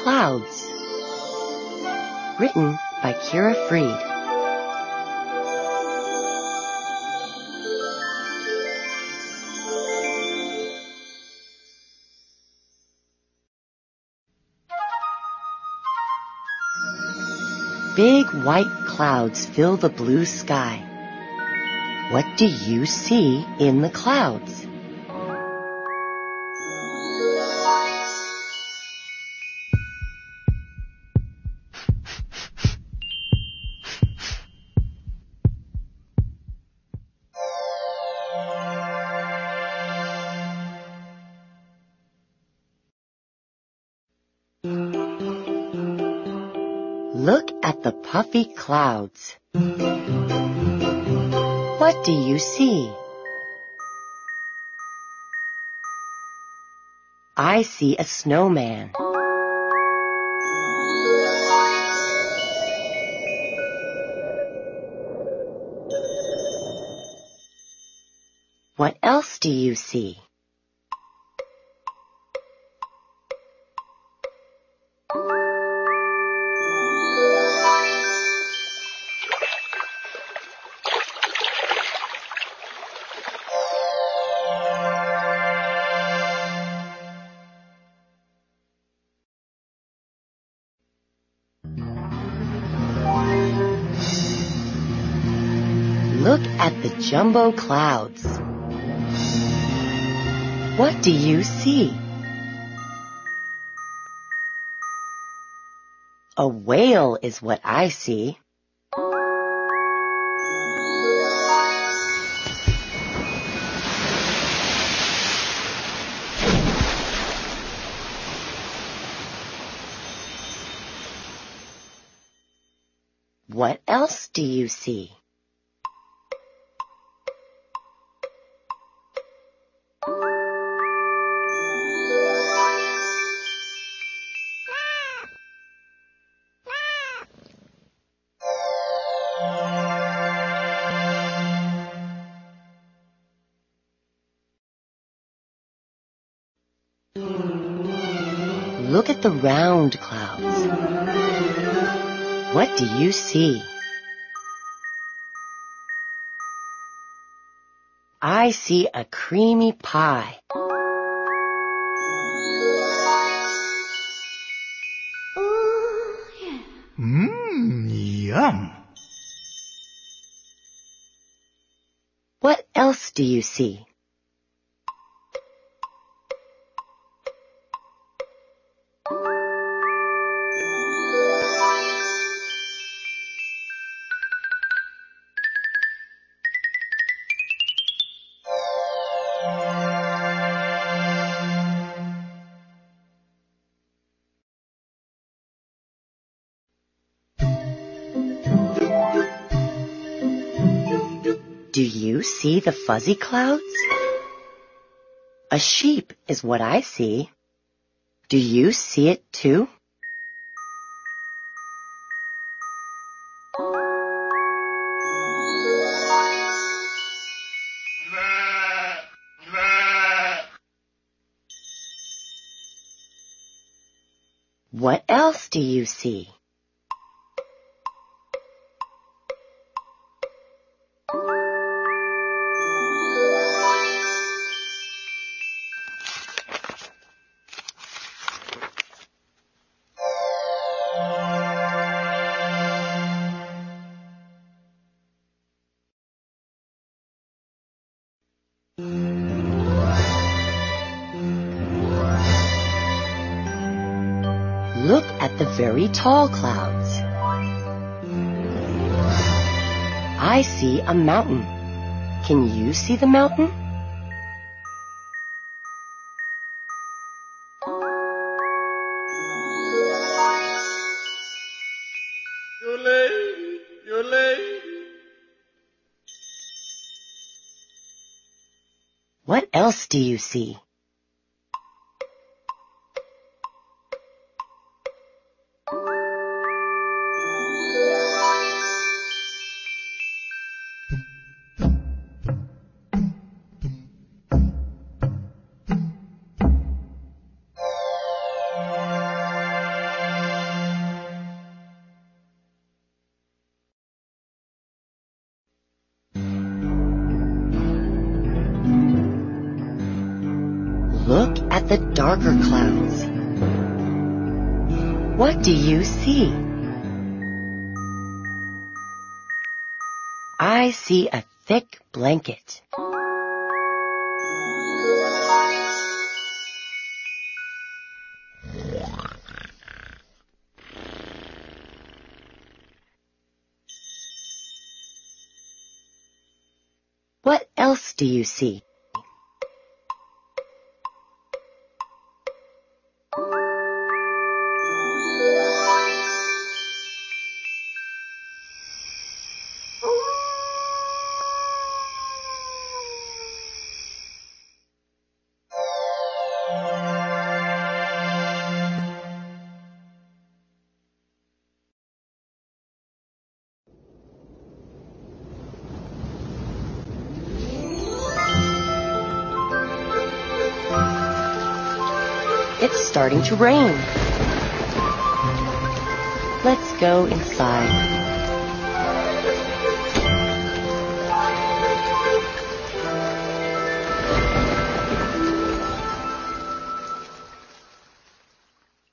Clouds. Written by Kira Freed. Big white clouds fill the blue sky. What do you see in the clouds? Look at the puffy clouds. What do you see? I see a snowman. What else do you see? Look at the jumbo clouds. What do you see? A whale is what I see. What else do you see? Look at the round clouds. What do you see? I see a creamy pie. Oh, yeah. Yum. What else do you see? Do you see the fuzzy clouds? A sheep is what I see. Do you see it too? What else do you see? Look at the very tall clouds. I see a mountain. Can you see the mountain? You're late. What else do you see? Look at the darker clouds. What do you see? I see a thick blanket. What else do you see? It's starting to rain. Let's go inside.